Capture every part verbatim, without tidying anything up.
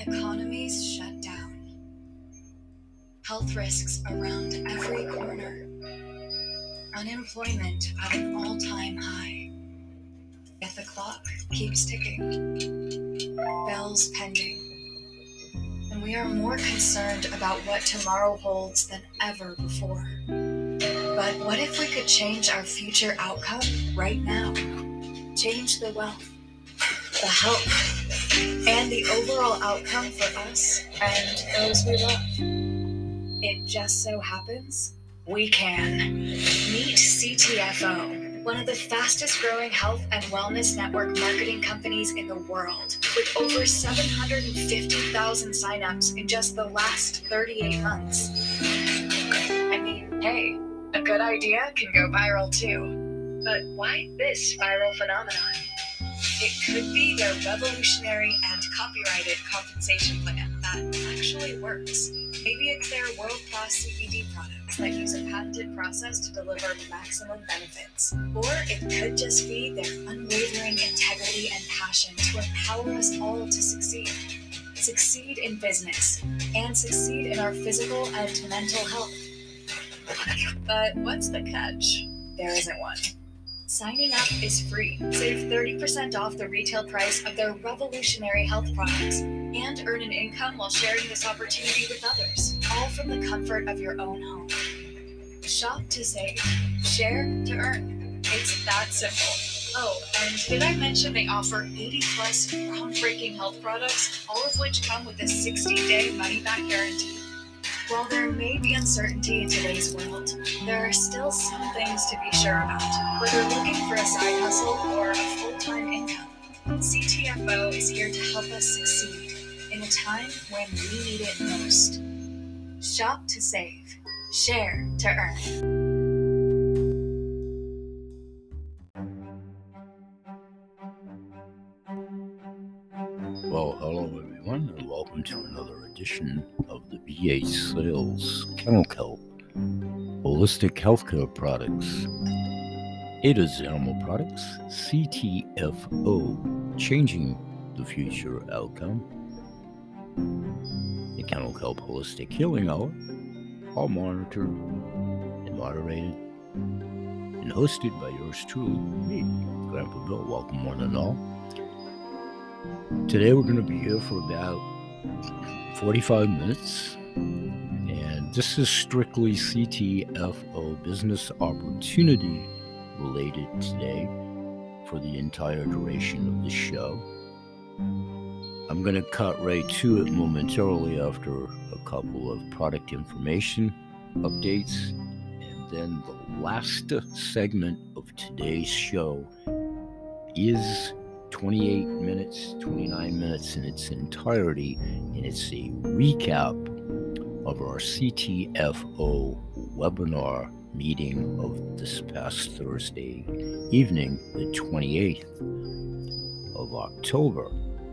Economies shut down. Health risks around every corner. Unemployment at an all-time high. Yet the clock keeps ticking. Bells pending. And we are more concerned about what tomorrow holds than ever before. But what if we could change our future outcome right now? Change the wealth, the health, and the overall outcome for us and those we love. It just so happens we can. Meet C T F O, one of the fastest growing health and wellness network marketing companies in the world, with over seven hundred fifty thousand signups in just the last thirty-eight months. I mean, hey, a good idea can go viral too. But why this viral phenomenon? It could be their revolutionary and copyrighted compensation plan that actually works. Maybe it's their world-class C B D products that use a patented process to deliver maximum benefits. Or it could just be their unwavering integrity and passion to empower us all to succeed. Succeed in business and succeed in our physical and mental health. But what's the catch? There isn't one. Signing up is free. Save thirty percent off the retail price of their revolutionary health products and earn an income while sharing this opportunity with others, all from the comfort of your own home. Shop to save. Share to earn. It's that simple. Oh, and did I mention they offer eighty plus groundbreaking health products, all of which come with a sixty day money-back guarantee? While there may be uncertainty in today's world, there are still some things to be sure about. Whether looking for a side hustle or a full-time income, C T F O is here to help us succeed in a time when we need it most. Shop to save. Share to earn. Well, hello everyone, and welcome to another edition of the B H Sales Kennel Kelp Holistic Healthcare Products. Ada's Animal Products, C T F O, changing the future outcome. The Kennel Kelp Holistic Healing Hour, all monitored and moderated and hosted by yours truly, me, Grandpa Bill. Welcome one and all. Today we're going to be here for about forty-five minutes, and this is strictly C T F O business opportunity related today for the entire duration of the show. I'm going to cut right to it momentarily after a couple of product information updates, and then the last segment of today's show is twenty-eight minutes, twenty-nine minutes in its entirety, and it's a recap of our C T F O webinar meeting of this past Thursday evening, the twenty-eighth of October.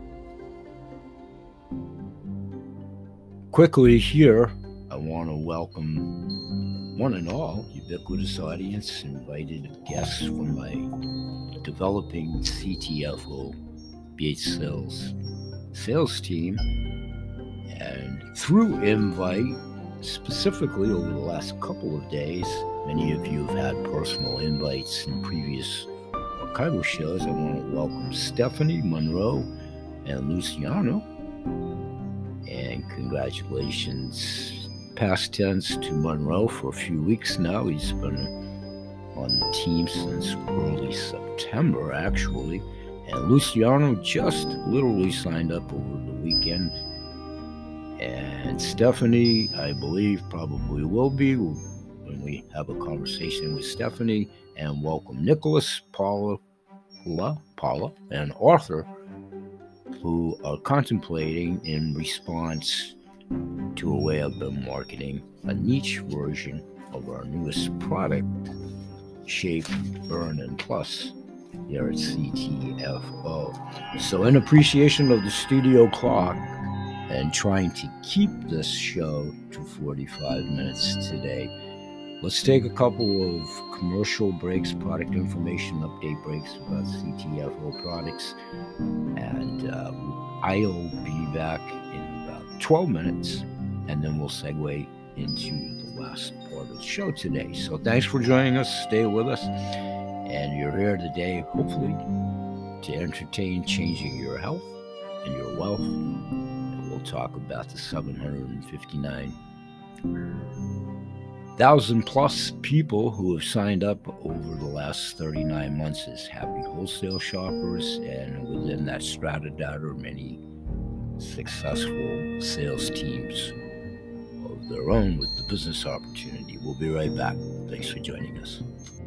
Quickly here, I want to welcome one and all, ubiquitous audience, invited guests from my developing C T F O B H Sales sales team, and through invite, specifically over the last couple of days, many of you have had personal invites in previous archival shows. I want to welcome Stephanie, Monroe, and Luciano, and congratulations past tense to Monroe for a few weeks now. He's been on the team since early September, actually, and Luciano just literally signed up over the weekend, and Stephanie, I believe, probably will be when we have a conversation with Stephanie. And welcome Nicholas, Paula, Paula, Paula, and Arthur, who are contemplating in response to a way I've been marketing a niche version of our newest product, Shape, Burn, and Plus, here at C T F O. So in appreciation of the studio clock and trying to keep this show to forty-five minutes today, let's take a couple of commercial breaks, product information update breaks about C T F O products. And uh, I'll be back in about twelve minutes, and then we'll segue into the last part of the show today. So thanks for joining us. Stay with us. And you're here today, hopefully, to entertain changing your health and your wealth. And we'll talk about the seven hundred fifty-nine thousand plus people who have signed up over the last thirty-nine months as happy wholesale shoppers, and within that strata data are many successful sales teams of their own with the business opportunity. We'll be right back. Thanks for joining us.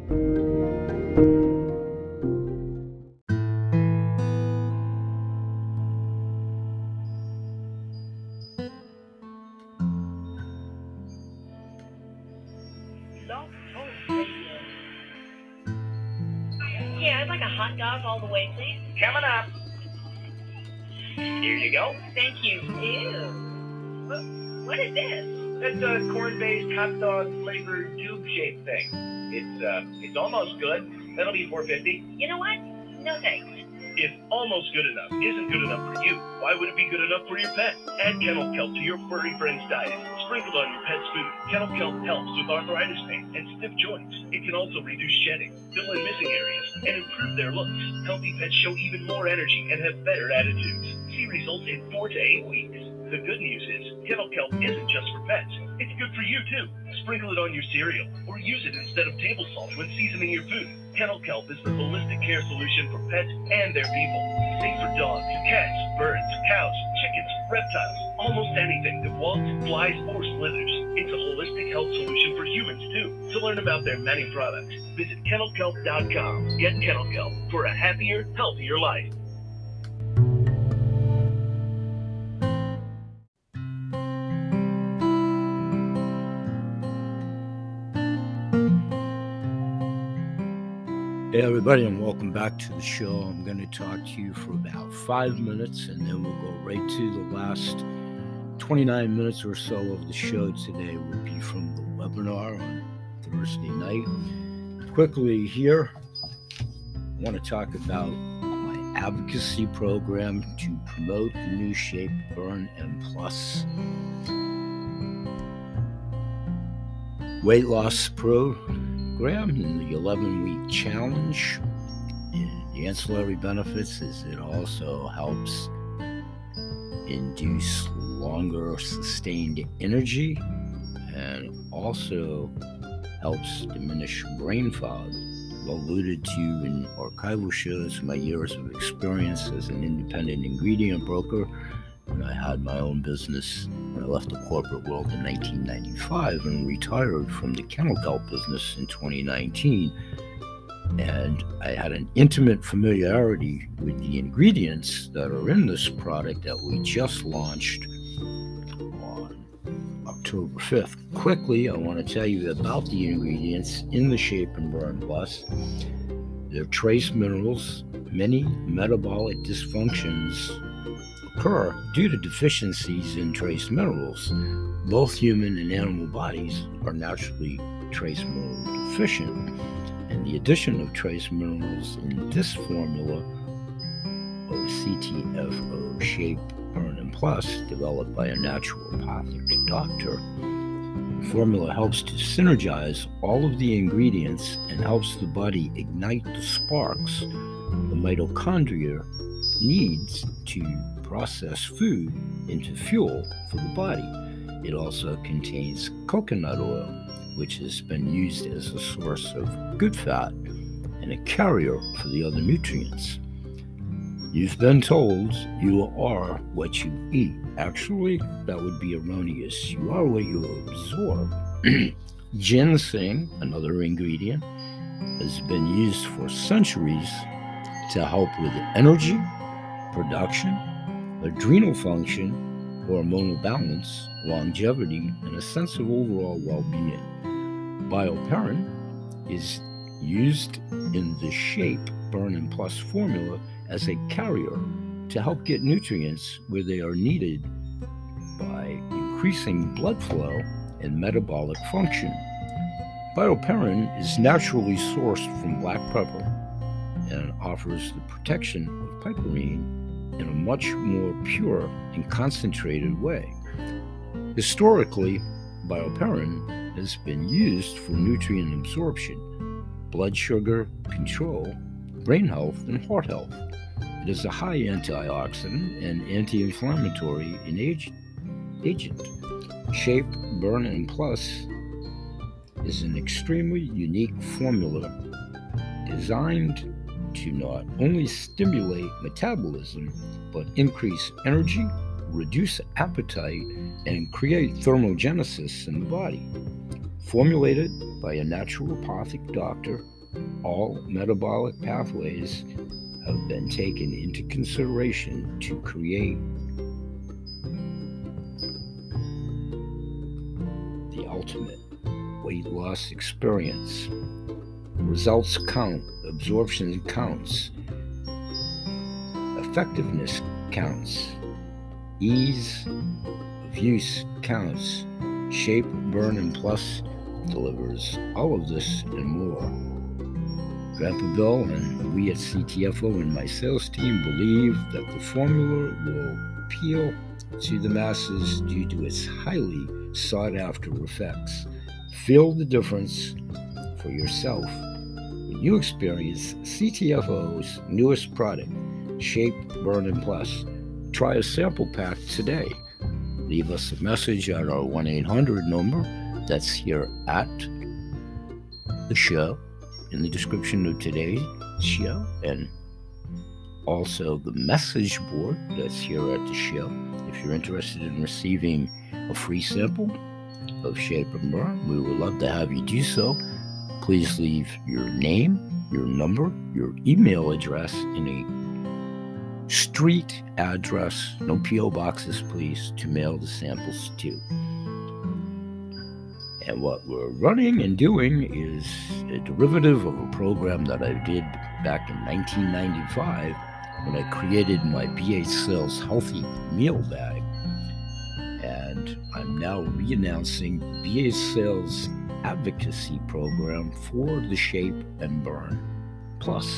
Yeah, I'd like a hot dog all the way, please. Coming up. Here you go. Thank you. Ew. What, what is this? That's a corn-based hot dog flavored tube shaped thing. It's uh, it's almost good. That'll be four fifty. You know what? No thanks. If almost good enough isn't good enough for you, why would it be good enough for your pet? Add Kennel Kelp to your furry friend's diet. Sprinkled on your pet's food, Kennel Kelp helps with arthritis pain and stiff joints. It can also reduce shedding, fill in missing areas, and improve their looks. Healthy pets show even more energy and have better attitudes. See results in four to eight weeks. The good news is, Kennel Kelp isn't just for pets. It's good for you, too. Sprinkle it on your cereal, or use it instead of table salt when seasoning your food. Kennel Kelp is the holistic care solution for pets and their people. Safe for dogs, cats, birds, cows, chickens, reptiles, almost anything that walks, flies, or slithers. It's a holistic health solution for humans, too. To learn about their many products, visit kennel kelp dot com. Get Kennel Kelp for a happier, healthier life. Hey everybody, and welcome back to the show. I'm going to talk to you for about five minutes, and then we'll go right to the last twenty-nine minutes or so of the show today will be from the webinar on Thursday night. Quickly here, I want to talk about my advocacy program to promote the new Shape, Burn, and Plus weight loss program and the eleven-week challenge. And the ancillary benefits is it also helps induce longer sustained energy and also helps diminish brain fog. I've alluded to in archival shows my years of experience as an independent ingredient broker when I had my own business when I left the corporate world in nineteen ninety-five and retired from the Kennel Kelp business in twenty nineteen. And I had an intimate familiarity with the ingredients that are in this product that we just launched on October fifth. Quickly, I want to tell you about the ingredients in the Shape and Burn Plus. They're trace minerals. Many metabolic dysfunctions occur due to deficiencies in trace minerals. Both human and animal bodies are naturally trace mineral deficient, and the addition of trace minerals in this formula of C T F O Shape, Burn, and Plus, developed by a naturopathic doctor, the formula helps to synergize all of the ingredients and helps the body ignite the sparks the mitochondria needs to process food into fuel for the body. It also contains coconut oil, which has been used as a source of good fat and a carrier for the other nutrients. You've been told you are what you eat. Actually, that would be erroneous. You are what you absorb. Ginseng, another ingredient, has been used for centuries to help with energy, production, adrenal function, hormonal balance, longevity, and a sense of overall well-being. Bioperine is used in the Shape, Burn, and Plus formula as a carrier to help get nutrients where they are needed by increasing blood flow and metabolic function. Bioperine is naturally sourced from black pepper and offers the protection of piperine in a much more pure and concentrated way. Historically, bioperine has been used for nutrient absorption, blood sugar control, brain health, and heart health. It is a high antioxidant and anti-inflammatory in age- agent. Shape, Burn, and Plus is an extremely unique formula designed to not only stimulate metabolism, but increase energy, reduce appetite, and create thermogenesis in the body. Formulated by a naturopathic doctor, all metabolic pathways have been taken into consideration to create the ultimate weight loss experience. Results count, absorption counts, effectiveness counts, ease of use counts. Shape, Burn, and Plus delivers all of this and more. Grandpa Bill and we at C T F O and my sales team believe that the formula will appeal to the masses due to its highly sought-after effects. Feel the difference for yourself when you experience C T F O's newest product, Shape, Burn, and Plus. Try a sample pack today. Leave us a message at our one eight hundred number that's here at the show, in the description of today's show, and also the message board that's here at the show. If you're interested in receiving a free sample of Shape and Burn, we would love to have you do so. Please leave your name, your number, your email address in a street address, no P O boxes, please, to mail the samples to. And what we're running and doing is a derivative of a program that I did back in nineteen ninety-five when I created my B H Sales Healthy Meal Bag. And I'm now re-announcing B H Sales Advocacy Program for the Shape and Burn Plus.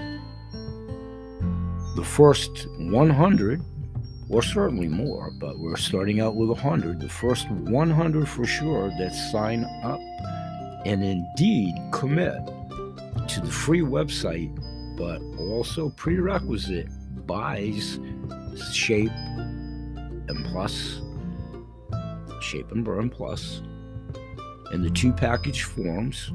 The first one hundred, or certainly more, but we're starting out with one hundred, the first one hundred for sure that sign up and indeed commit to the free website, but also prerequisite buys Shape and Plus, Shape and Burn Plus, and the two package forms,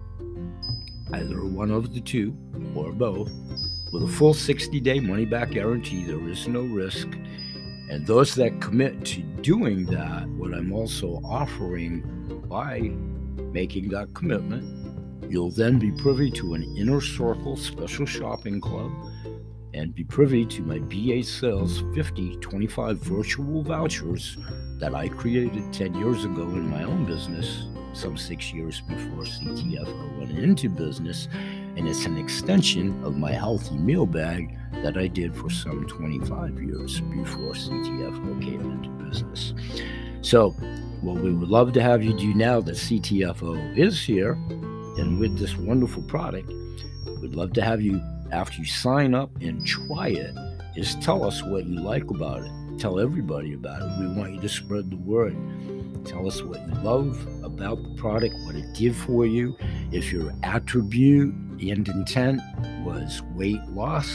either one of the two or both, with a full sixty-day money-back guarantee. There is no risk. And those that commit to doing that, what I'm also offering by making that commitment, you'll then be privy to an Inner Circle special shopping club and be privy to my B H Sales fifty twenty-five virtual vouchers that I created ten years ago in my own business, some six years before C T F O went into business. And it's an extension of my healthy meal bag that I did for some twenty-five years before C T F O came into business. So what we would love to have you do now that C T F O is here and with this wonderful product, we'd love to have you, after you sign up and try it, is tell us what you like about it. Tell everybody about it. We want you to spread the word. Tell us what you love about the product, what it did for you. If your attribute and intent was weight loss,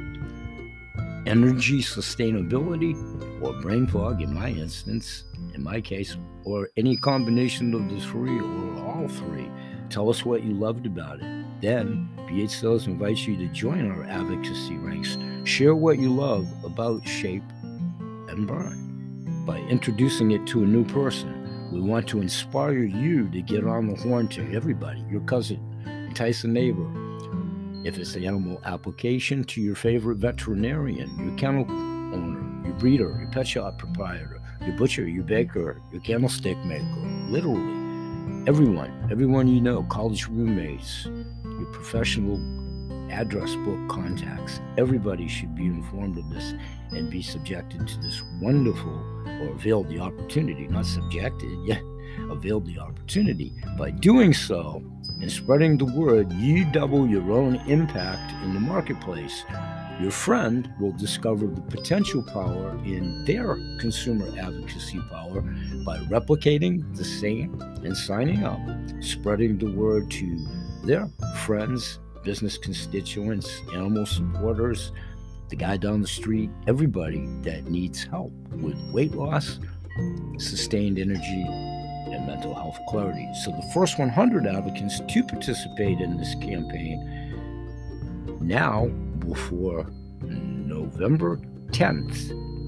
energy sustainability, or brain fog in my instance, in my case, or any combination of the three or all three, tell us what you loved about it. Then B H Sales invites you to join our advocacy ranks. Share what you love about Shape and Burn by introducing it to a new person. We want to inspire you to get on the horn to everybody, your cousin, entice a neighbor. If it's the animal application, to your favorite veterinarian, your kennel owner, your breeder, your pet shop proprietor, your butcher, your baker, your candlestick maker, literally everyone, everyone you know, college roommates, your professional address book, contacts. Everybody should be informed of this and be subjected to this wonderful, or avail the opportunity, not subjected, yeah, avail the opportunity. By doing so and spreading the word, you double your own impact in the marketplace. Your friend will discover the potential power in their consumer advocacy power by replicating the same and signing up, spreading the word to their friends, business constituents, animal supporters, the guy down the street, everybody that needs help with weight loss, sustained energy, and mental health clarity. So the first one hundred advocates to participate in this campaign now before November tenth.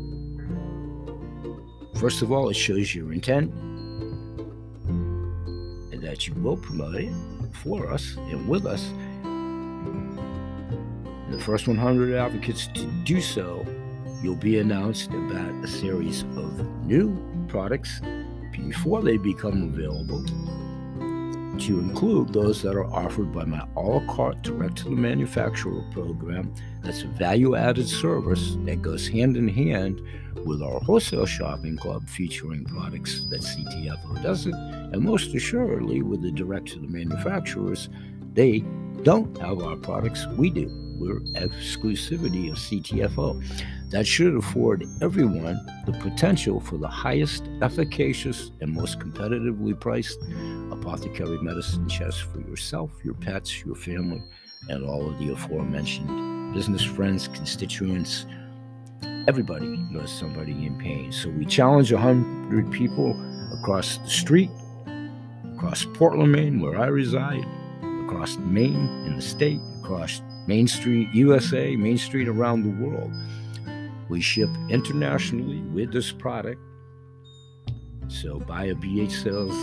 First of all, it shows your intent and that you will promote it for us and with us. And the first one hundred advocates to do so, you'll be announced about a series of new products before they become available, to include those that are offered by my a la carte direct to the manufacturer program. That's a value-added service that goes hand in hand with our wholesale shopping club, featuring products that C T F O doesn't, and most assuredly with the direct to the manufacturers, they don't have our products, we do. We're exclusivity of C T F O. That should afford everyone the potential for the highest efficacious and most competitively priced apothecary medicine chest for yourself, your pets, your family, and all of the aforementioned business friends, constituents. Everybody knows somebody in pain. So we challenge one hundred people across the street, across Portland, Maine, where I reside, across Maine in the state, across Main Street, U S A, Main Street around the world. We ship internationally with this product. So buy a B H Sales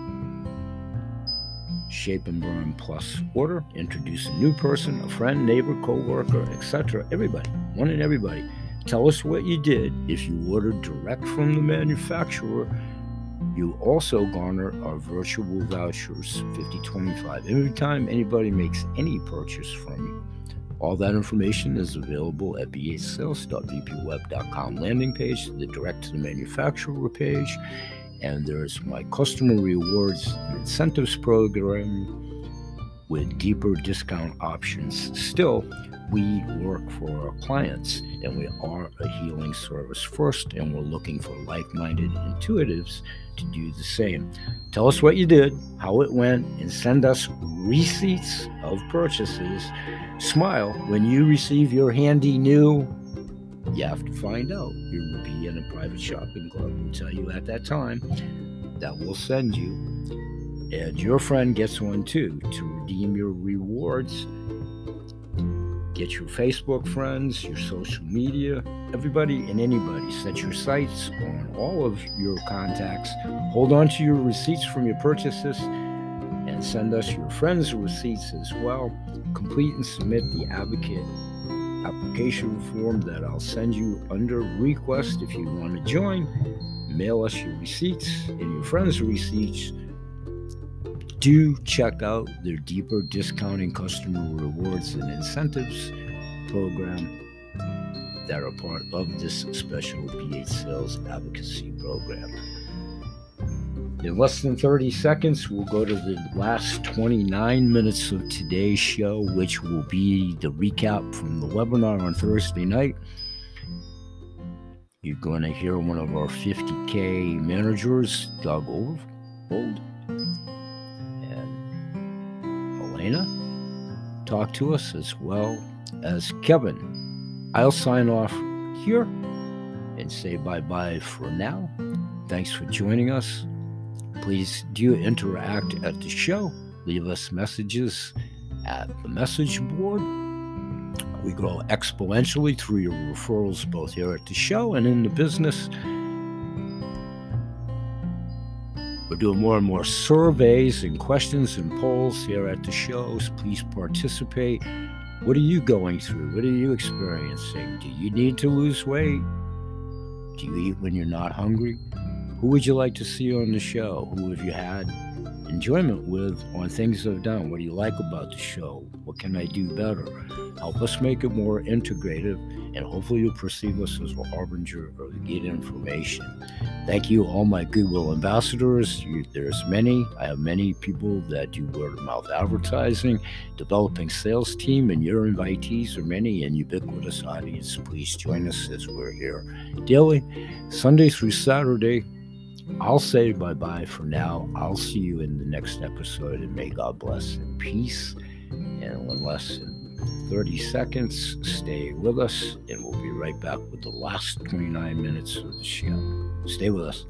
Shape and Burn Plus order, introduce a new person, a friend, neighbor, co-worker, et cetera. Everybody, one and everybody. Tell us what you did. If you ordered direct from the manufacturer, you also garner our virtual vouchers, fifty twenty-five, every time anybody makes any purchase from you. All that information is available at b h sales dot v p web dot com landing page, the direct to the manufacturer page, and there's my customer rewards and incentives program with deeper discount options. Still, we work for our clients, and we are a healing service first, and we're looking for like-minded intuitives to do the same. Tell us what you did, how it went, and send us receipts of purchases. Smile when you receive your handy new. You have to find out. You will be in a private shopping club. We'll tell you at that time that we'll send you. And your friend gets one too to redeem your rewards. Get your Facebook friends, your social media, everybody and anybody. Set your sights on all of your contacts. Hold on to your receipts from your purchases and send us your friends' receipts as well. Complete and submit the advocate application form that I'll send you under request if you want to join. Mail us your receipts and your friends' receipts. Do check out their deeper discounting customer rewards and incentives program that are part of this special B H Sales advocacy program. In less than thirty seconds, we'll go to the last twenty-nine minutes of today's show, which will be the recap from the webinar on Thursday night. You're going to hear one of our fifty K managers, Doug Overfold, and Elena talk to us, as well as Kevin. I'll sign off here and say bye-bye for now. Thanks for joining us. Please do interact at the show. Leave us messages at the message board. We grow exponentially through your referrals, both here at the show and in the business. We're doing more and more surveys and questions and polls here at the shows. Please participate. What are you going through? What are you experiencing? Do you need to lose weight? Do you eat when you're not hungry? Who would you like to see on the show? Who have you had enjoyment with on things I've done. What do you like about the show? What can I do better? Help us make it more integrative, and hopefully you'll perceive us as a harbinger of good information. Thank you, all my Goodwill ambassadors. You, there's many. I have many people that do word-of-mouth advertising, developing sales team, and your invitees are many, and ubiquitous audience. Please join us as we're here daily, Sunday through Saturday. I'll say bye-bye for now. I'll see you in the next episode, and may God bless and peace. And in less than thirty seconds, stay with us, and we'll be right back with the last twenty-nine minutes of the show. Stay with us.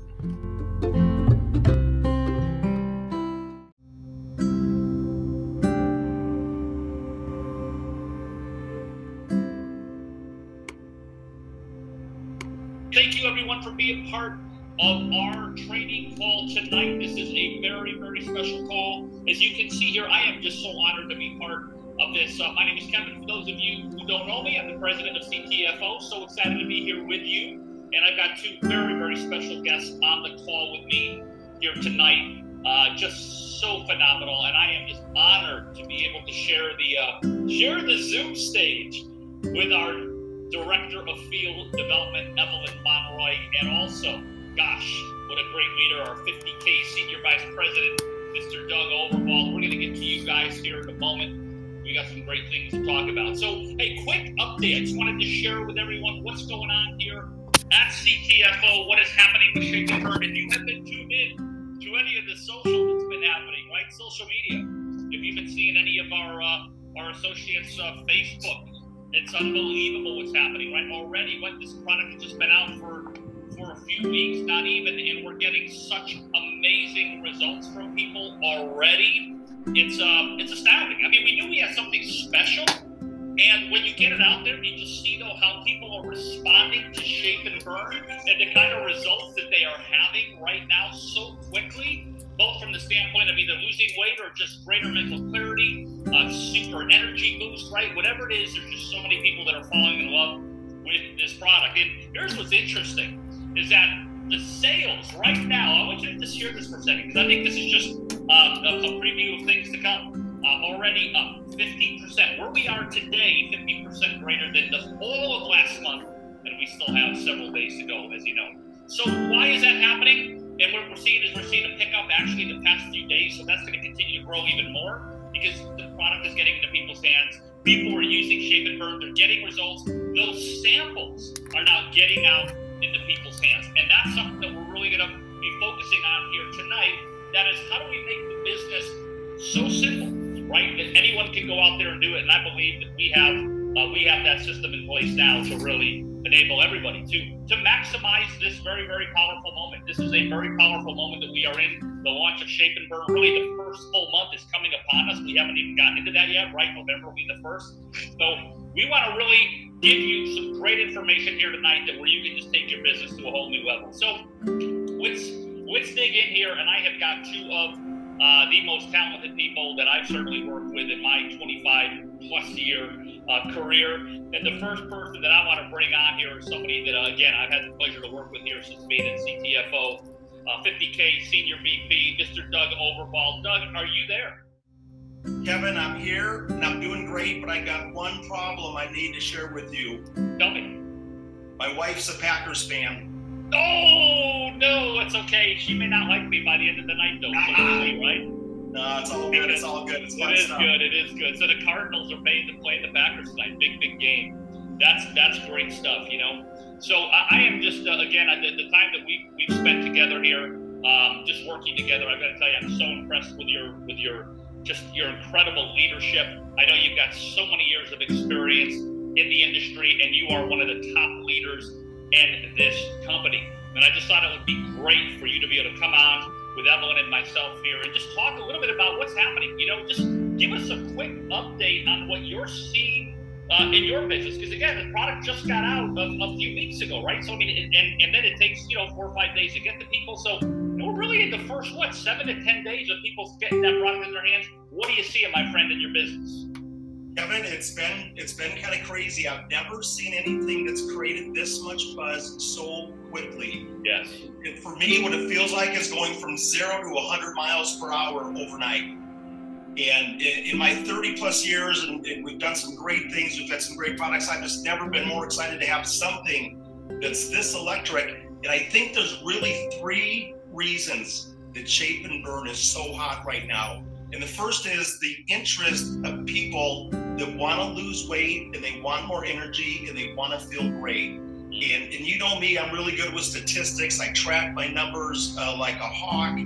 Thank you, everyone, for being part of our training call tonight. This is a very, very special call. As you can see here, I am just so honored to be part of this. Uh, my name is Kevin. For those of you who don't know me, I'm the president of C T F O. So excited to be here with you. And I've got two very, very special guests on the call with me here tonight. Uh, just so phenomenal. And I am just honored to be able to share the uh, share the Zoom stage with our Director of Field Development, Evelyn Monroy, and also, gosh, what a great leader, our fifty K Senior Vice President, Mister Doug Overbald. We're going to get to you guys here in a moment. We got some great things to talk about. So, hey, quick update. I just wanted to share with everyone what's going on here at C T F O, what is happening with Shake and Burn. If you have been tuned in to any of the social that's been happening, right, social media, if you've been seeing any of our uh, our associates' uh, Facebook, it's unbelievable what's happening, right? Already, what this product has just been out for for a few weeks, not even, and we're getting such amazing results from people already. It's um, it's astounding. I mean, we knew we had something special, and when you get it out there, you just see though how people are responding to Shape and Burn and the kind of results that they are having right now so quickly, both from the standpoint of either losing weight or just greater mental clarity, uh, super energy boost, right? Whatever it is, there's just so many people that are falling in love with this product. And here's what's interesting, is that the sales right now, I want you to just hear this for a second, because I think this is just um, a, a preview of things to come, uh, already up fifteen percent. Where we are today, fifty percent greater than the whole of last month, and we still have several days to go, as you know. So why is that happening? And what we're seeing is we're seeing a pickup actually the past few days, so that's going to continue to grow even more because the product is getting into people's hands. People are using Shape and Burn, they're getting results. Those samples are now getting out into people's hands, and that's something that we're really going to be focusing on here tonight. That is, how do we make the business so simple, right, that anyone can go out there and do it? And I believe that we have uh, we have that system in place now to really enable everybody to to maximize this very, very powerful moment. This is a very powerful moment that we are in. The launch of Shape and Burn, really the first full month is coming upon us. We haven't even gotten into that yet, right? November will be the first. So we want to really give you some great information here tonight that where you can just take your business to a whole new level. So let's let's dig in here, and I have got two of uh, the most talented people that I've certainly worked with in my twenty-five plus year uh, career. And the first person that I want to bring on here is somebody that, uh, again, I've had the pleasure to work with here since being at C T F O, uh, fifty K Senior V P, Mister Doug Overbald. Doug, are you there? Kevin, I'm here and I'm doing great, but I got one problem I need to share with you. Tell me. My wife's a Packers fan. Oh, no, it's okay. She may not like me by the end of the night, though, so right? No, it's all good. It's all good. It's It fun is stuff. good. It is good. So the Cardinals are paying to play the Packers tonight. Big, big game. That's that's great stuff, you know. So I, I am just, uh, again, I, the, the time that we've, we've spent together here, um, just working together, I've got to tell you, I'm so impressed with your with your just your incredible leadership. I know you've got so many years of experience in the industry, and you are one of the top leaders in this company. And I just thought it would be great for you to be able to come on with Evelyn and myself here and just talk a little bit about what's happening. You know, just give us a quick update on what you're seeing uh, in your business. Because again, the product just got out a, a few weeks ago, right? So I mean, and, and then it takes, you know, four or five days to get to people. So we're really in the first, what, seven to ten days of people getting that product in their hands. What do you see, my friend, in your business? Kevin, it's been it's been kind of crazy. I've never seen anything that's created this much buzz so quickly. Yes. And for me, what it feels like is going from zero to one hundred miles per hour overnight. And in, in my thirty plus years, and, and we've done some great things, we've had some great products, I've just never been more excited to have something that's this electric. And I think there's really three reasons that Shape and Burn is so hot right now. And the first is the interest of people that want to lose weight and they want more energy and they want to feel great. And, and you know me, I'm really good with statistics. I track my numbers uh, like a hawk.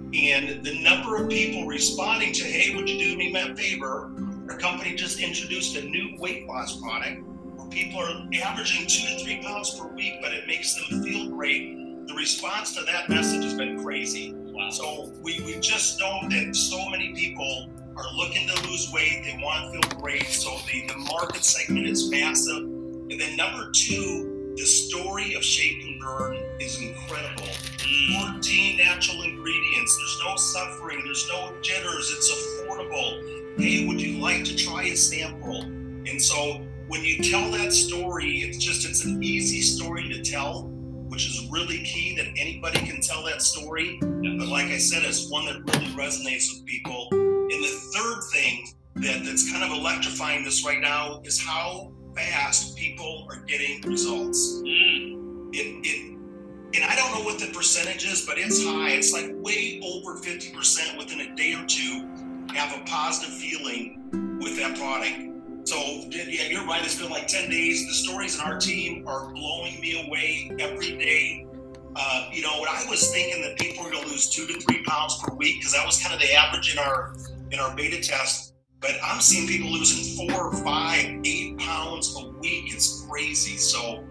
And the number of people responding to, hey, would you do me a favor? Our company just introduced a new weight loss product where people are averaging two to three pounds per week, but it makes them feel great. The response to that message has been crazy. Wow. So we, we just know that so many people are looking to lose weight. They want to feel great. So the, the market segment is massive. And then number two, the story of Shape and Burn is incredible. fourteen natural ingredients. There's no suffering. There's no jitters. It's affordable. Hey, would you like to try a sample? And so when you tell that story, it's just, it's an easy story to tell, which is really key, that anybody can tell that story. But like I said, it's one that really resonates with people. And the third thing that, that's kind of electrifying this right now is how fast people are getting results. Mm. It, it, and I don't know what the percentage is, but it's high. It's like way over fifty percent within a day or two have a positive feeling with that product. So yeah, you're right. It's been like ten days. The stories in our team are blowing me away every day. Uh, you know, when I was thinking that people were going to lose two to three pounds per week, because that was kind of the average in our in our beta test. But I'm seeing people losing four, five, eight pounds a week. It's crazy. So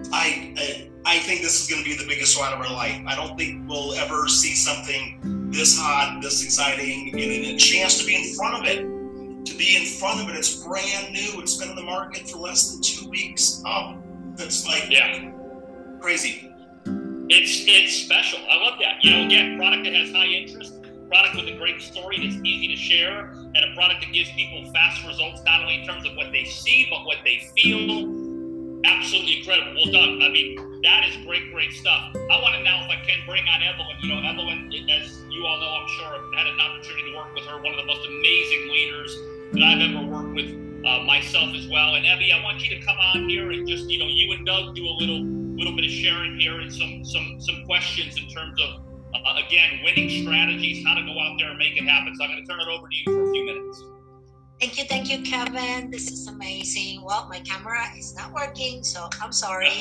I I, I think this is going to be the biggest ride of our life. I don't think we'll ever see something this hot, this exciting, and a chance to be in front of it. To be in front of it, it's brand new. It's been in the market for less than two weeks. Oh, that's like yeah, crazy. It's it's special. I love that. You know, again, product that has high interest, product with a great story that's easy to share, and a product that gives people fast results, not only in terms of what they see, but what they feel. Absolutely incredible. Well done. I mean, that is great, great stuff. I want to now, if I can, bring on Evelyn. You know, Evelyn, as you all know, I'm sure, I've had an opportunity to work with her, one of the most amazing leaders that I've ever worked with, uh, myself as well. And Evie, I want you to come on here and just, you know, you and Doug do a little little bit of sharing here and some some some questions in terms of, uh, again, winning strategies, how to go out there and make it happen. So I'm going to turn it over to you for a few minutes. Thank you, thank you, Kevin. This is amazing. Well, my camera is not working, so I'm sorry.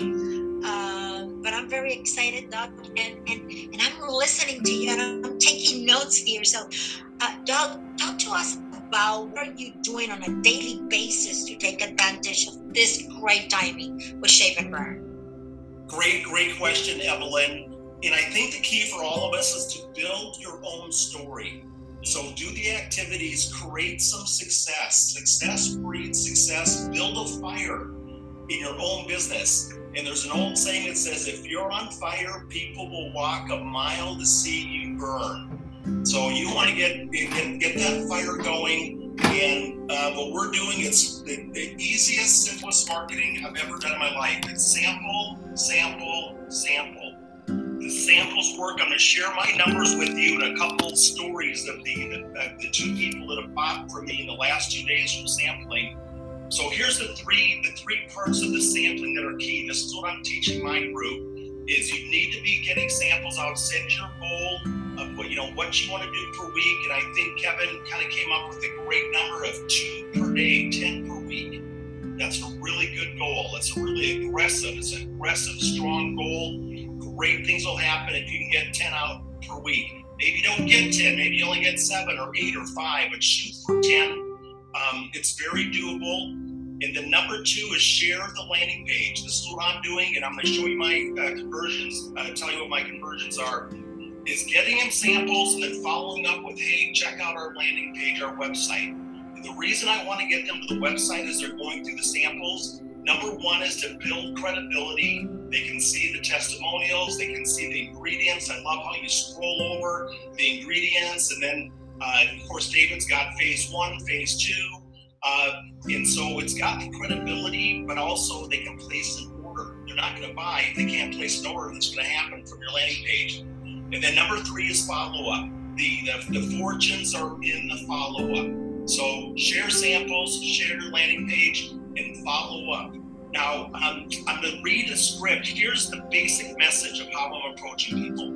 Um, but I'm very excited, Doug, and, and, and I'm listening to you, and I'm taking notes here. So, uh, Doug, talk to us about what are you doing on a daily basis to take advantage of this great timing with Shape and Burn? Great, great question, Evelyn. And I think the key for all of us is to build your own story. So do the activities, create some success. Success breeds success. Build a fire in your own business. And there's an old saying that says, if you're on fire, people will walk a mile to see you burn. So you want to get get, get that fire going. And uh, what we're doing is the, the easiest, simplest marketing I've ever done in my life. It's sample, sample, sample. The samples work. I'm going to share my numbers with you and a couple stories of the, the, uh, the two people that have bought from me in the last two days from sampling. So here's the three the three parts of the sampling that are key. This is what I'm teaching my group, is you need to be getting samples out. Set your goal of what you know what you want to do per week. And I think Kevin kind of came up with a great number of two per day, ten per week. That's a really good goal. It's a really aggressive, it's an aggressive, strong goal. Great things will happen if you can get ten out per week. Maybe you don't get ten, maybe you only get seven or eight or five, but shoot for ten. Um, it's very doable. And then number two is share the landing page. This is what I'm doing, and I'm going to show you my uh, conversions, uh, tell you what my conversions are, is getting them samples and then following up with, hey, check out our landing page, our website. And the reason I want to get them to the website is they're going through the samples. Number one is to build credibility. They can see the testimonials. They can see the ingredients. I love how you scroll over the ingredients. And then, uh, of course, David's got phase one, phase two. Uh, and so it's got the credibility, but also they can place an order. They're not going to buy if they can't place an order. That's going to happen from your landing page. And then number three is follow-up. The, the, the fortunes are in the follow-up. So share samples, share your landing page, and follow up. Now, um, I'm going to read a script. Here's the basic message of how I'm approaching people.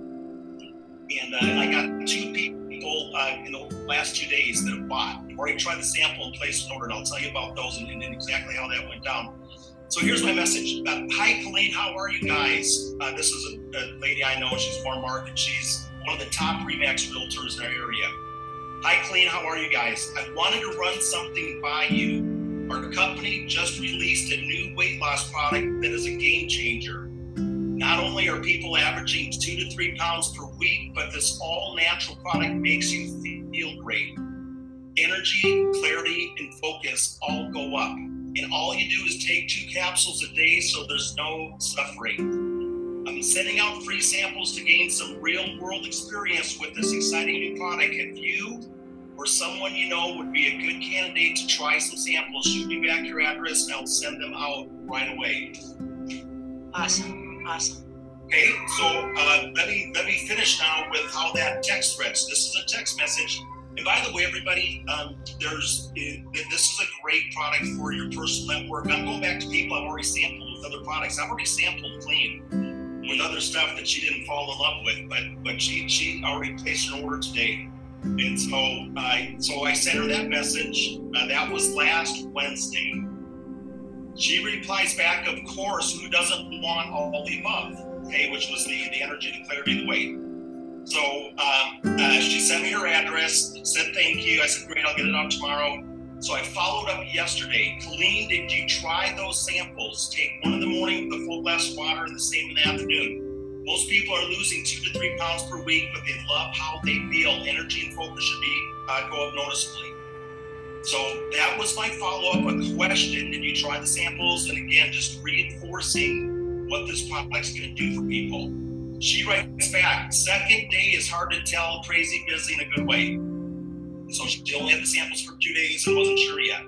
And uh, I got two people uh, in the last two days that have bought. I've already tried the sample and placed an order, and I'll tell you about those and, and exactly how that went down. So here's my message. Uh, Hi, Colleen. How are you guys? Uh, this is a, a lady I know. She's Warren Market. She's one of the top RE/MAX realtors in our area. Hi, Colleen. How are you guys? I wanted to run something by you. Our company just released a new weight loss product that is a game changer. Not only are people averaging two to three pounds per week, but this all-natural product makes you feel great. Energy, clarity, and focus all go up. And all you do is take two capsules a day so there's no suffering. I'm sending out free samples to gain some real-world experience with this exciting new product. If you or someone you know would be a good candidate to try some samples, shoot me back your address and I'll send them out right away. Awesome, awesome. Okay, so uh, let me let me finish now with how that text reads. This is a text message. And by the way, everybody, um, there's this is a great product for your personal network. I'm going back to people I've already sampled with other products. I've already sampled Clean with other stuff that she didn't fall in love with, but but she she already placed an order today. And so, uh, so I sent her that message. Uh, that was last Wednesday. She replies back, of course, who doesn't want all the above? Okay, which was the, the energy, the clarity, the weight. So um, uh, she sent me her address, said thank you. I said, great, I'll get it out tomorrow. So I followed up yesterday. Colleen, did you try those samples? Take one in the morning with a full glass of water and the same in the afternoon. Most people are losing two to three pounds per week, but they love how they feel. Energy and focus should be uh, go up noticeably. So that was my follow-up, a question. Did you try the samples? And again, just reinforcing what this product's going to do for people. She writes back, second day is hard to tell, crazy busy in a good way. So she only had the samples for two days and wasn't sure yet.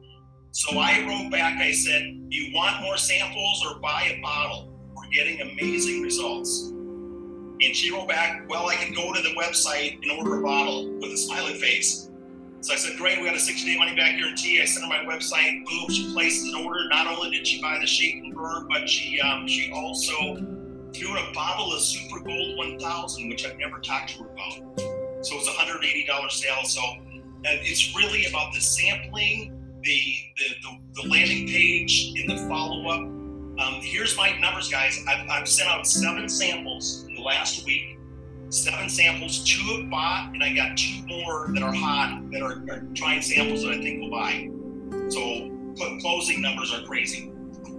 So I wrote back, I said, you want more samples or buy a bottle? Getting amazing results. And she wrote back, well, I can go to the website and order a bottle with a smiley face. So I said, great, we got a sixty day money back guarantee. I sent her my website, boom, she places an order. Not only did she buy the shake and burn, but she um, she also threw in a bottle of Super Gold one thousand, which I've never talked to her about. So it was a one hundred eighty dollars sale. So uh, it's really about the sampling, the, the, the, the landing page, and the follow-up. Um, here's my numbers, guys. I've, I've sent out seven samples in the last week. Seven samples. Two have bought, and I got two more that are hot that are, are trying samples that I think will buy. So closing numbers are crazy.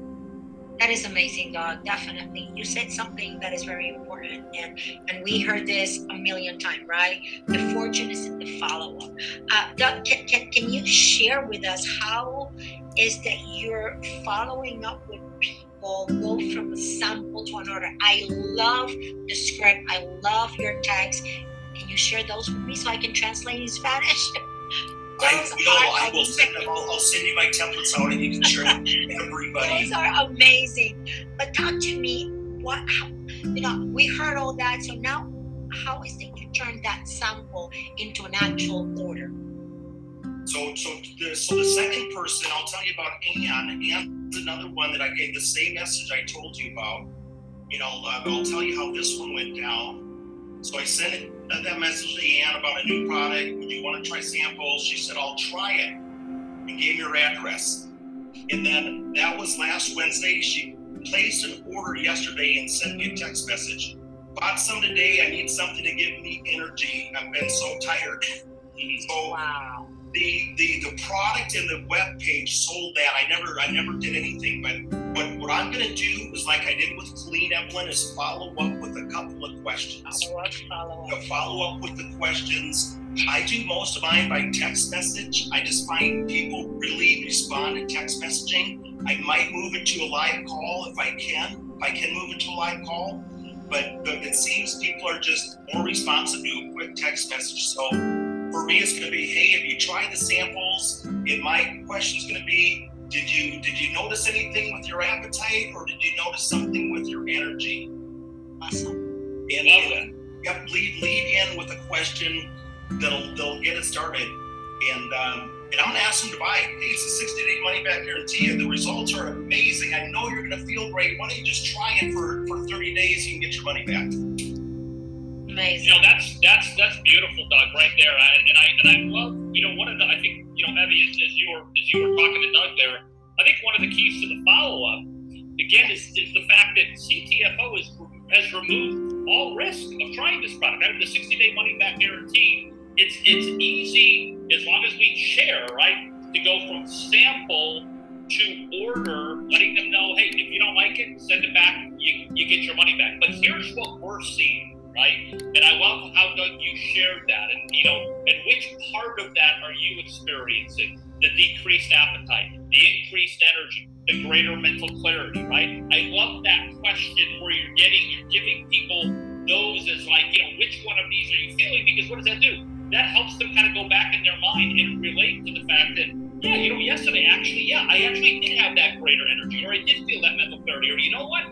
That is amazing, Doug. Definitely. You said something that is very important, and and we heard this a million times, right? The fortune is in the follow-up. Uh, Doug, can, can, can you share with us how is that you're following up with people, go from a sample to an order? I love the script. I love your text. Can you share those with me so I can translate in Spanish? I will. I will send them. I'll, I'll send you my templates out, and you can share them with everybody. Those are amazing. But talk to me. What? How, you know, we heard all that. So now, how is it you turn that sample into an actual order? So, so, the, so the second person, I'll tell you about Anne. Anne's another one that I gave the same message I told you about. You know, uh, I'll tell you how this one went down. So I sent it, uh, that message to Anne about a new product. Would you want to try samples? She said, I'll try it, and gave me her address. And then that was last Wednesday. She placed an order yesterday and sent me a text message. Bought some today. I need something to give me energy. I've been so tired. So wow. The, the the product and the web page sold that. I never I never did anything, but what, what I'm gonna do is like I did with Colleen, Evelyn, is follow up with a couple of questions. Follow up, follow up. Follow up with the questions. I do most of mine by text message. I just find people really respond to text messaging. I might move it to a live call if I can. If I can move it to a live call. But, but it seems people are just more responsive to a quick text message. So for me, it's going to be, hey, have you tried the samples? goals. And my question is going to be, did you did you notice anything with your appetite, or did you notice something with your energy? Awesome. And Love that. Yep, lead, lead in with a question that'll, that'll get it started. And um, and I'm going to ask them to buy it. Hey, it's a sixty-day money-back guarantee. The results are amazing. I know you're going to feel great. Why don't you just try it for, for thirty days? You can get your money back. Amazing. You know, that's that's that's beautiful, Doug, right there. I, and I and I love, you know, one of the, I think, you know, Evie, as, as you were as you were talking to Doug there, I think one of the keys to the follow-up, again, is, is the fact that C T F O is, has removed all risk of trying this product. I mean, the sixty-day money-back guarantee, it's it's easy as long as we share, right, to go from sample to order, letting them know, hey, if you don't like it, send it back, you, you get your money back. But here's what we're seeing, right? And I love how, Doug, you shared that. And, you know, and which part of that are you experiencing? The decreased appetite, the increased energy, the greater mental clarity, right? I love that question where you're getting, you're giving people those as like, you know, which one of these are you feeling? Because what does that do? That helps them kind of go back in their mind and relate to the fact that, yeah, you know, yesterday, actually, yeah, I actually did have that greater energy, or I did feel that mental clarity, or you know what?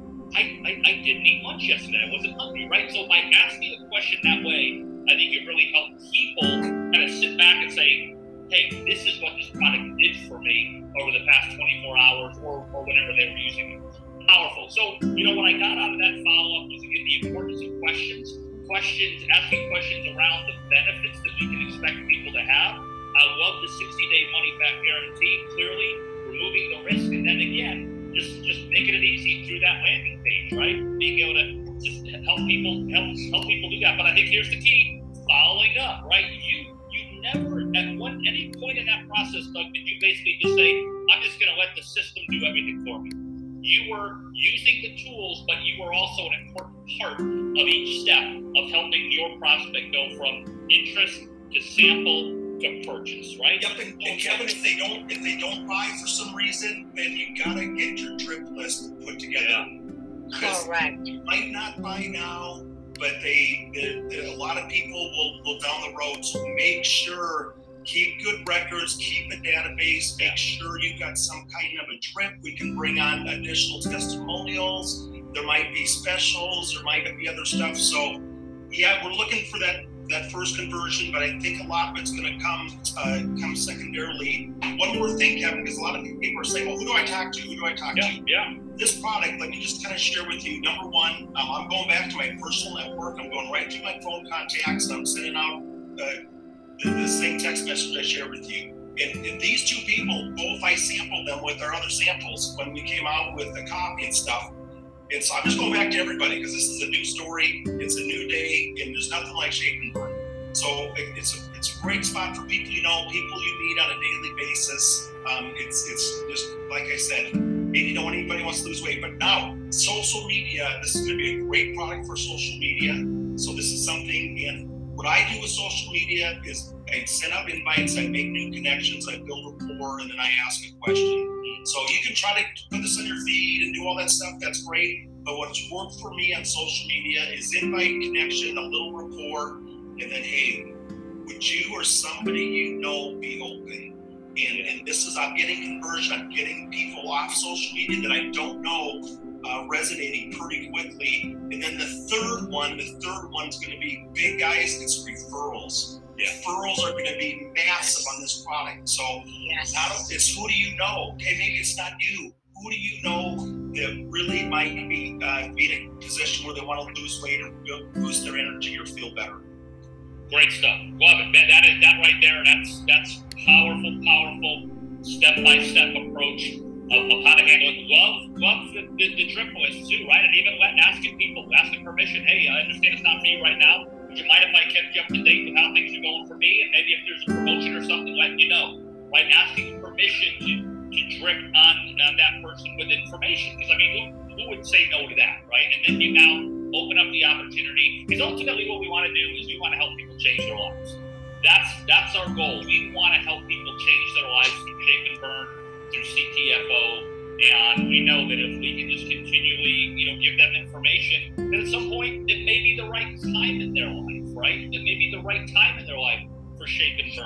I, I, I didn't eat lunch yesterday. I wasn't hungry, right? So by asking the question that way, I think it really helped people kind of sit back and say, hey, this is what this product did for me over the past twenty-four hours or, or whenever they were using it. Powerful. So, you know, what I got out of that follow-up was, again, the importance of questions, questions, asking questions around the benefits that we can expect people to have. I love the sixty-day money-back guarantee, clearly removing the risk, and then again, just just making it easy through that landing page, right? Being able to just help people help help people do that. But I think here's the key: following up, right? You you never at one any point in that process, Doug, did you basically just say, "I'm just going to let the system do everything for me"? You were using the tools, but you were also an important part of each step of helping your prospect go from interest to sample to purchase, right? Yep, and, and Kevin, if they don't if they don't buy for some reason, then you gotta get your drip list put together. Yeah. Correct. You might not buy now, but they, they, they a lot of people will, will down the road. So make sure, keep good records, keep a database, make sure you've got some kind of a drip. We can bring on additional testimonials. There might be specials, there might be other stuff. So yeah, we're looking for that that first conversion, but I think a lot of it's going to come uh, come secondarily. One more thing, Kevin, because a lot of people are saying, well, who do I talk to? Who do I talk Yeah, to? yeah. This product, let me just kind of share with you. Number one, um, I'm going back to my personal network. I'm going right through my phone contacts. I'm sending out uh, the, the same text message I shared with you. And, and these two people, both I sampled them with our other samples when we came out with the copy and stuff. And so I'm just going back to everybody because this is a new story. It's a new day, and there's nothing like Shape and Burn. So it, it's a it's a great spot for people you know, people you meet on a daily basis. Um, it's it's just like I said, maybe you know anybody wants to lose weight, but now social media. This is going to be a great product for social media. So this is something. And what I do with social media is I send out invites, I make new connections, I build rapport, and then I ask a question. So you can try to put this on your feed and do all that stuff. That's great. But what's worked for me on social media is invite, connection, a little rapport, and then, hey, would you or somebody you know be open? And, and this is, I'm getting conversion. I'm getting people off social media that I don't know uh, resonating pretty quickly. And then the third one, the third one's going to be big guys. It's referrals. Yeah. Referrals are going to be massive on this product. So Yes. not it's who do you know? Okay, maybe it's not you. Who do you know that really might be uh, be in a position where they want to lose weight or boost their energy or feel better? Great stuff. Love it. That, that is that right there. That's that's powerful, powerful step-by-step approach of, of how to handle it. Love, love the, the, the drip list too, right? And even letting asking people, asking permission. Hey, I understand it's not for you right now. Would you mind if I kept you up to date with how things are going for me? And maybe if there's a promotion or something, letting you know. Right? Asking permission to, to drip on, on that person with information. Because I mean, who, who would say no to that, right? And then you now open up the opportunity. Because ultimately what we want to do is we want to help people change their lives. That's that's our goal. We want to help people change their lives through Shape and Burn, through C T F O. And we know that if we can just continually, you know, give them information, then at some point it may be the right time in their life, right? It may be the right time in their life for Shape and Burn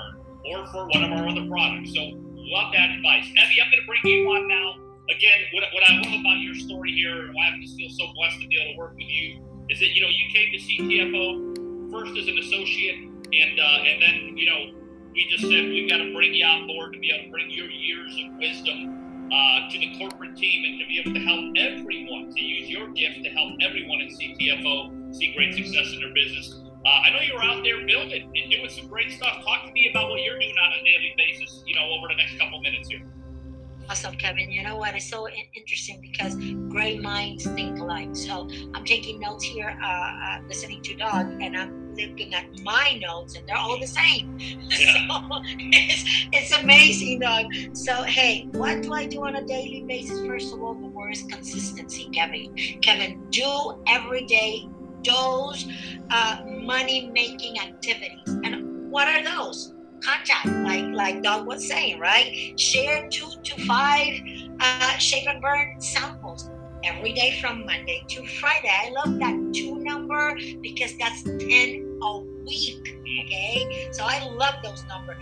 or for one of our other products. So love that advice. Evie, I'm going to bring you on now. Again, what, what I love about your story here, and why I just feel so blessed to be able to work with you, is that, you know, you came to C T F O first as an associate, and uh, and then, you know, we just said we've got to bring you on board to be able to bring your years of wisdom uh, to the corporate team and to be able to help everyone, to use your gift to help everyone at C T F O see great success in their business. Uh, I know you're out there building and doing some great stuff. Talk to me about what you're doing on a daily basis, you know, over the next couple minutes here. Awesome, Kevin. You know what? It's so interesting because great minds think alike. So I'm taking notes here, uh, uh, listening to Doug, and I'm looking at my notes, and they're all the same. Yeah. So it's, it's amazing, Doug. So, hey, what do I do on a daily basis? First of all, the word is consistency, Kevin. Kevin, do every day those uh, money-making activities. And what are those? Contact, like like Doug was saying, right? Share two to five uh, shave and burn samples every day from Monday to Friday. I love that two number because that's ten a week, okay? So I love those numbers.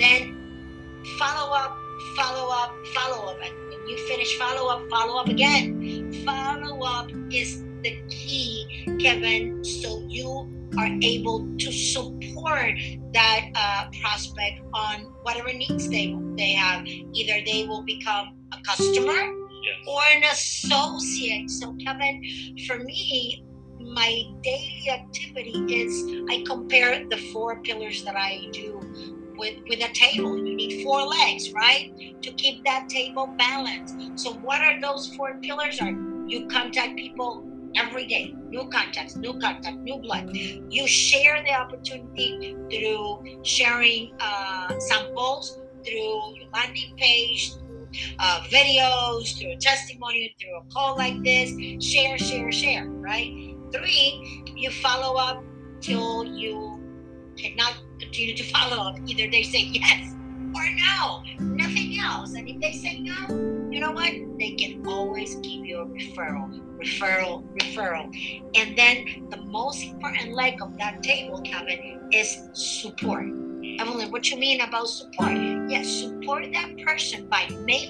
Then follow up, follow up, follow up. And when you finish follow up, follow up again. Follow up is the key, Kevin, so you are able to support that uh, prospect on whatever needs they they have. Either they will become a customer, yes, or an associate. So, Kevin, for me, my daily activity is I compare the four pillars that I do with, with a table. You need four legs, right, to keep that table balanced. So what are those four pillars? Are you contact people every day, new contacts, new contact, new blood. You share the opportunity through sharing uh, samples, through your landing page, through uh, videos, through a testimony, through a call like this. Share, share, share, right? Three, you follow up till you cannot continue to follow up. Either they say yes or no, nothing else. And if they say no, you know what? They can always give you a referral, referral, referral. And then the most important leg of that table, Kevin, is support. Evelyn, what you mean about support? Yes, support that person by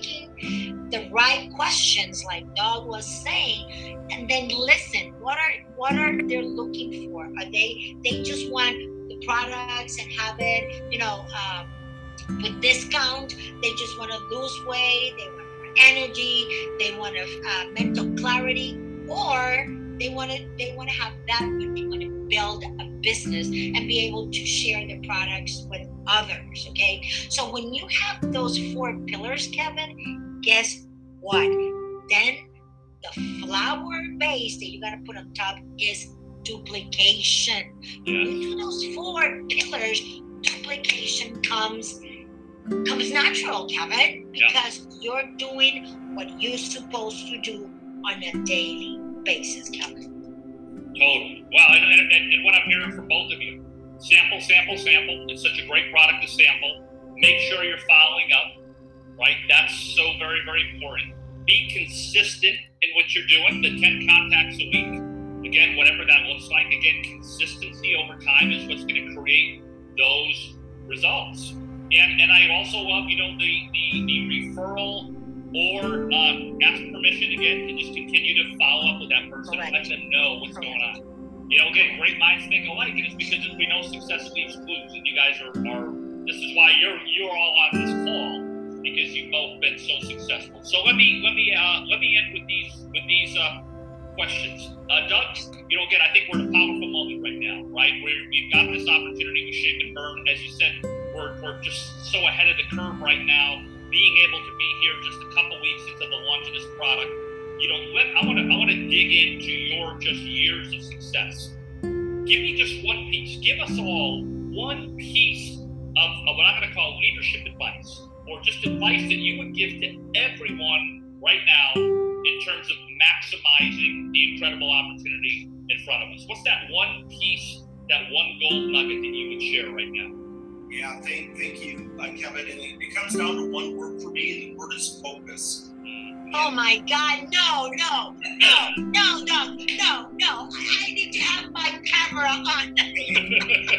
making the right questions, like Doug was saying, and then listen. What are what are they looking for? Are they they just want the products and have it, you know, um, with discount? They just want to lose weight. They want energy, they want to uh, mental clarity, or they want to they want to have that, but they want to build a business and be able to share their products with others. Okay, so when you have those four pillars, Kevin, guess what? Then the flower base that you got to put on top is duplication. Yeah. When you do those four pillars, duplication comes comes natural, Kevin, because yeah, you're doing what you're supposed to do on a daily basis, Kevin. Totally. Wow, and, and, and what I'm hearing from both of you, sample, sample, sample. It's such a great product to sample. Make sure you're following up, right? That's so very, very important. Be consistent in what you're doing, the ten contacts a week. Again, whatever that looks like. Again, consistency over time is what's going to create those results. And and I also love, you know, the, the, the referral or uh, ask permission, again, to just continue to follow up with that person and let them know what's Correct. going on. You know, again, great minds think alike. And it's because we know success leaves clues. And you guys are, are this is why you're you're all on this call, because you've both been so successful. So let me let me uh, let me end with these with these uh, questions. Uh, Doug, you know, again, I think we're in a powerful moment right now, right? Where we've got this opportunity with Shave and Burn. As you said, We're, we're just so ahead of the curve right now, being able to be here just a couple weeks into the launch of this product. You know, let, I want to I want to dig into your just years of success. Give me just one piece. Give us all one piece of, of what I'm going to call leadership advice, or just advice that you would give to everyone right now in terms of maximizing the incredible opportunity in front of us. What's that one piece, that one gold nugget that you would share right now? Yeah, thank, thank you, uh, Kevin. And it comes down to one word for me, and the word is focus. Oh my God, no, no, no, no, no, no, no. I, I need to have my camera on.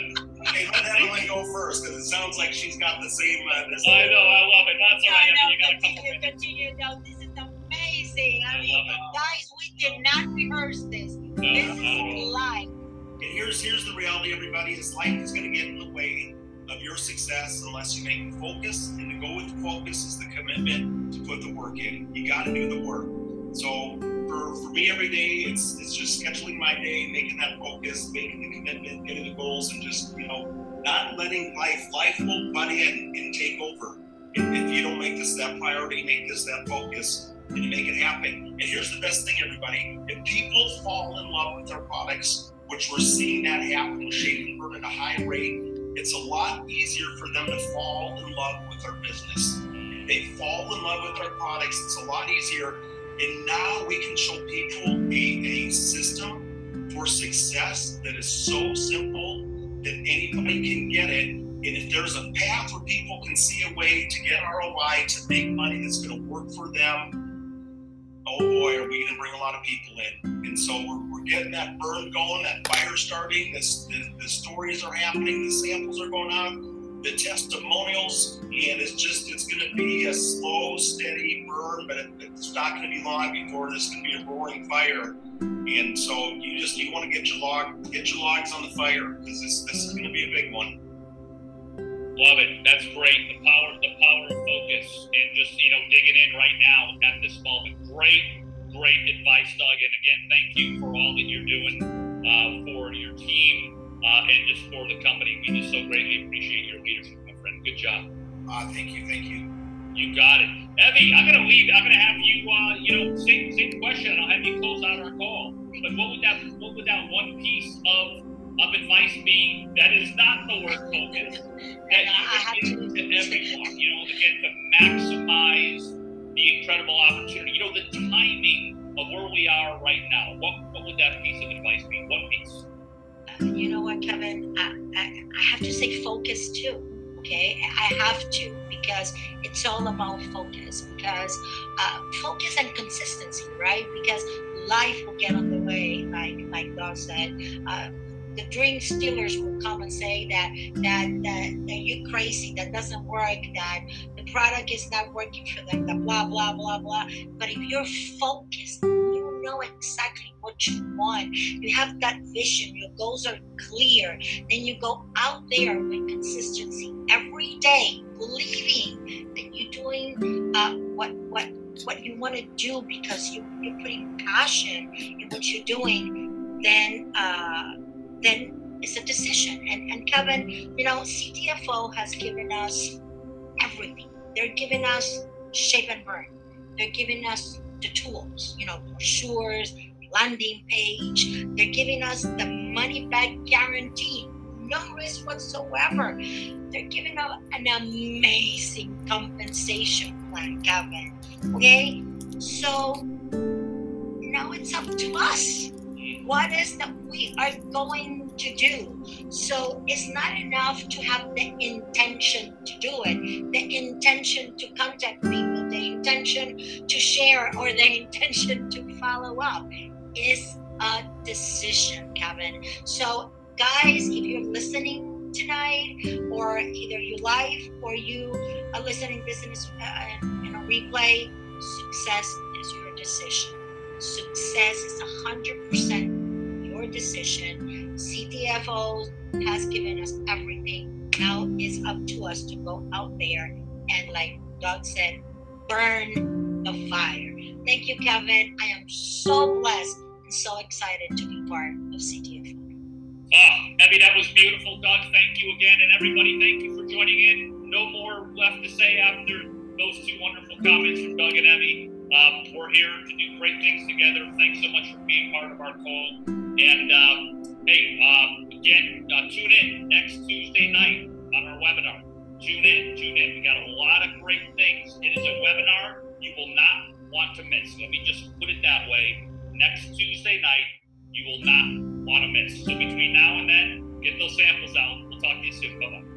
Hey, let Evelyn go first, because it sounds like she's got the same. Uh, this I know, I love it. That's all I right. know, You got a couple continue, minutes. continue. No, this is amazing. I, I mean, love it. guys, we did not rehearse this. No, This not is at all. live. And here's here's the reality, everybody, is life is going to get in the way of your success unless you make the focus. And to go with the focus is the commitment to put the work in. You got to do the work. So for, for me, every day, it's it's just scheduling my day, making that focus, making the commitment, getting the goals, and just, you know, not letting life, life will butt in and take over. If, if you don't make this that priority, make this that focus, and you make it happen. And here's the best thing, everybody. If people fall in love with their products, which we're seeing that happen with Shave and Burn at a high rate, it's a lot easier for them to fall in love with our business. If they fall in love with our products, it's a lot easier. And now we can show people a, a system for success that is so simple that anybody can get it. And if there's a path where people can see a way to get R O I, to make money that's going to work for them, oh boy, are we going to bring a lot of people in. And so we're, we're getting that burn going, that fire starting, this, the, the stories are happening, the samples are going out, the testimonials, and it's just, it's going to be a slow, steady burn, but it, it's not going to be long before this is going to be a roaring fire. And so you just, you want to get your log, get your logs on the fire, because this, this is going to be a big one. Love it. That's great. The power, the power of focus, and just, you know, digging in right now at this moment. Great, great advice, Doug. And again, thank you for all that you're doing uh, for your team uh, and just for the company. We just so greatly appreciate your leadership, my friend. Good job. Uh, thank you, thank you. You got it. Evie, I'm gonna leave. I'm gonna have you, uh, you know, same same question. I'll have you close out our call. But what would that, what would that one piece of of advice be that is not the word focus, that you would give to everyone, you know, again, to maximize the incredible opportunity, you know, the timing of where we are right now? What what would that piece of advice be? What piece? Uh, you know what, Kevin? I, I, I have to say focus too. Okay, I have to, because it's all about focus. Because uh, focus and consistency, right? Because life will get on the way, like like Doug said. Uh, the dream stealers will come and say that that that, that you're crazy, that doesn't work, that the product is not working for them, that blah blah blah blah. But if you're focused, you know exactly what you want. You have that vision. Your goals are clear. Then you go out there with consistency every day, believing that you're doing uh, what what what you want to do, because you, you're putting passion in what you're doing. Then uh, then it's a decision. And and Kevin, you know, C T F O has given us everything. They're giving us Shape and Burn. They're giving us the tools, you know, brochures, landing page. They're giving us the money back guarantee, no risk whatsoever. They're giving us an amazing compensation plan, Kevin. Okay, so now it's up to us. What is that we are going to do? So it's not enough to have the intention to do it, the intention to contact people, the intention to share, or the intention to follow up. Is a decision, Kevin. So guys, if you're listening tonight, or either you live or you are listening business uh, in a replay, success is your decision. Success is one hundred percent your decision. C T F O has given us everything. Now it's up to us to go out there and, like Doug said, burn the fire. Thank you, Kevin. I am so blessed and so excited to be part of C T F O. Ah, Evie, that was beautiful, Doug. Thank you again. And everybody, thank you for joining in. No more left to say after those two wonderful comments from Doug and Evie. Um, we're here to do great things together. Thanks so much for being part of our call. And um, hey, um, again, uh, tune in next Tuesday night on our webinar. Tune in, tune in. We got a lot of great things. It is a webinar you will not want to miss. Let me just put it that way. Next Tuesday night, you will not want to miss. So between now and then, get those samples out. We'll talk to you soon. Bye-bye.